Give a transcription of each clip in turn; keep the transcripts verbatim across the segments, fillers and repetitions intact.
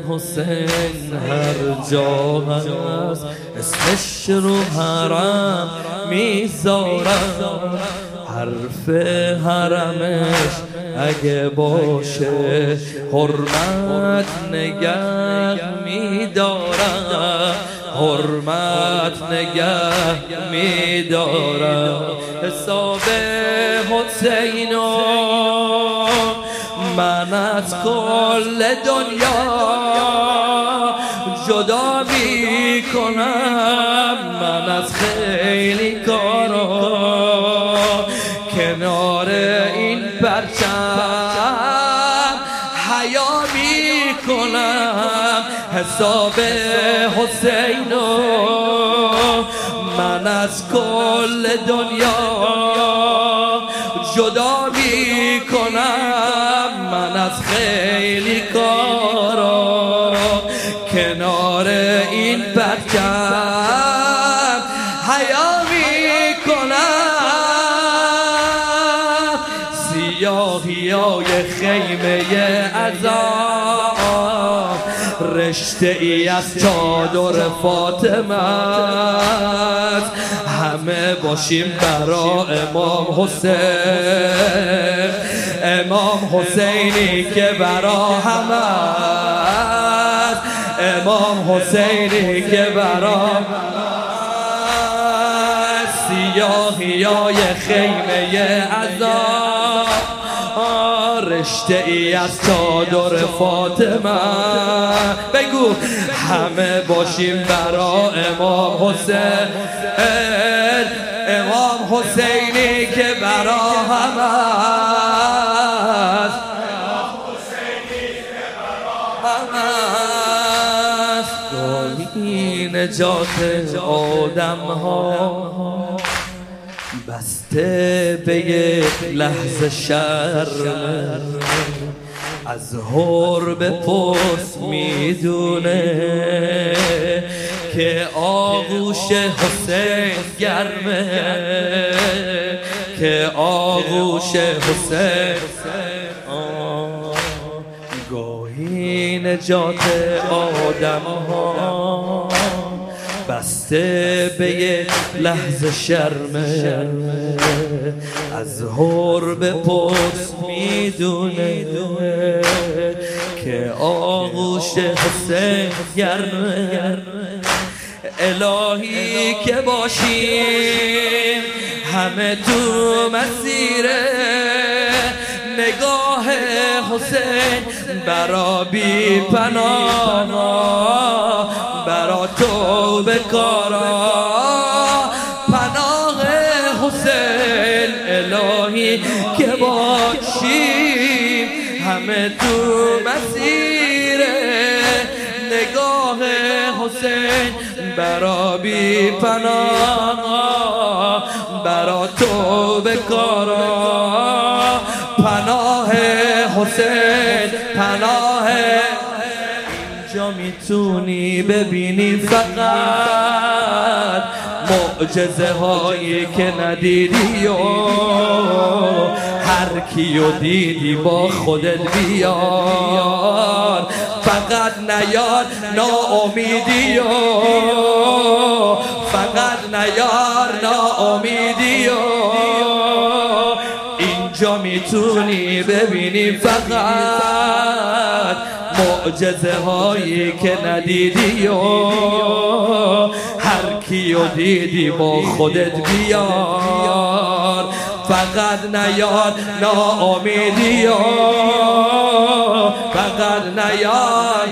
حسین هر جا هست اسمش رو حرم میذارم، حرف حرمش اگه باشه حرمت نگه میدارم، حرمت نگه میدارم. حساب حسینو من از کل دنیا جدا میکنم، من از خیلی کارا کنار این پرچم حیا میکنم. حساب حسینو من از کل دنیا جدا میکنم، من از خیلی کارا کنار این پرچم حیا میکنم. سیاهیای خیمه عذاب رشته ای از چادر فاطمه است، همه باشیم برا امام حسین، امام حسینی که برا همه است، امام حسینی که برا سیاهیای خیمه عذاب رشته ای از چادر فاطمه. بگو همه باشیم برا امام حسین، امام حسینی که برا همه است، گاهی نجات آدم ها بسته به یک لحظه شرم، از هور به پست میدونه که آغوش حسین گرمه، که آغوش حسین. گاهی نجات آدم ها بسته به یک لحظه شرمه، از هور به پست میدونه که آغوش حسین گرمه. الهی که باشیم همه تو مسیر نگاه حسین، برا بی پناه برا تو بکارا پناه حسین. الهی که باشیم همه تو مسیر نگاه حسین، برا بی پناه برا تو بکارا پناه حسین، پناه. اینجا میتونی ببینی فقط معجزه هایی که ندیدی و هر کیو دیدی با خودت بیار، فقط نیار ناامیدی و فقط نیار ناامیدی و اینجا میتونی ببینی فقط معجزه هایی که ندیدی و هر کیو دیدی با خودت بیار، فقط نیار ناامیدی و فقط نیار.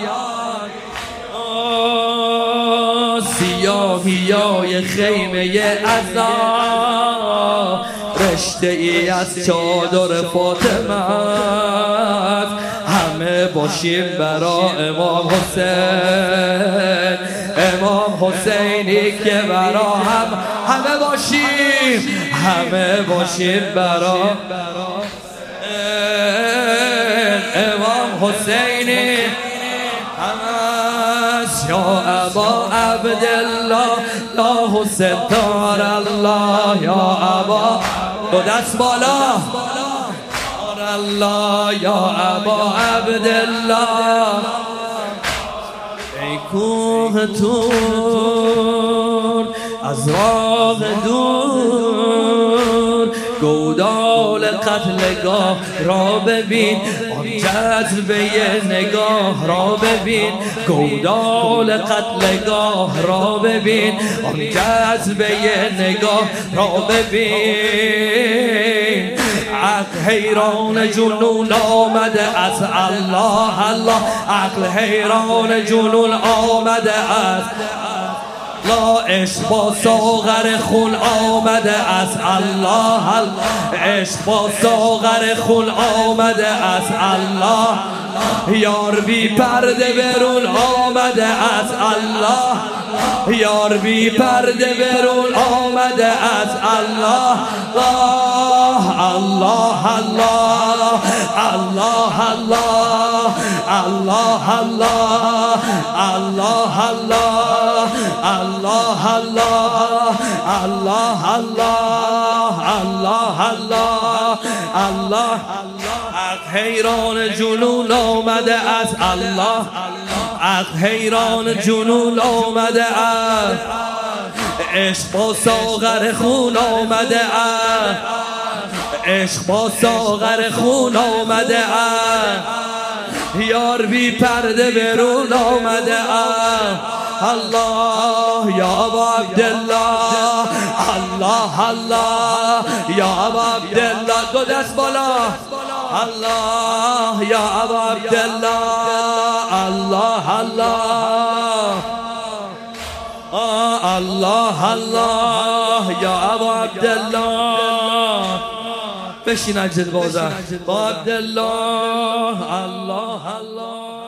سیاهیای خیمه عذاب رشته ای از چادر فاطمه، همه باشیم برا امام حسین، امام حسینی که برا هم همه باشیم، همه باشیم برا امام حسینی یا ابا عبدالله یا حسین دار الله، یا ابا دو دست بالا الله، یا ابا عبدالله کوه تور از راه دور گودال قتلگاه را ببین، آن جذبه نگاه را ببین، گودال قتلگاه را ببین، آن جذبه نگاه را ببین. عقل حیران جنون آمده از الله الله، عقل حیران جنون آمده از لا، عشق با ساغر خون آمده از الله الله، عشق با ساغر خون آمده از الله، یار بی پرده برون آمده از الله، یار بی پرده برون آمده از الله. الله الله الله الله الله الله الله الله الله الله الله الله الله الله. عقل حیران جنون آمده از الله، عقل حیران جنون آمده از عشق با ساغر خون آمده از عشق با ساغر خون آمده از یار بی پرده برون آمده از الله یا ابا عبدالله، الله الله یا ابا عبدالله، دو دست بالا، الله یا ابا عبدالله، الله الله الله الله یا ابا عبدالله. بشین اجل بازم با عبدالله، الله الله.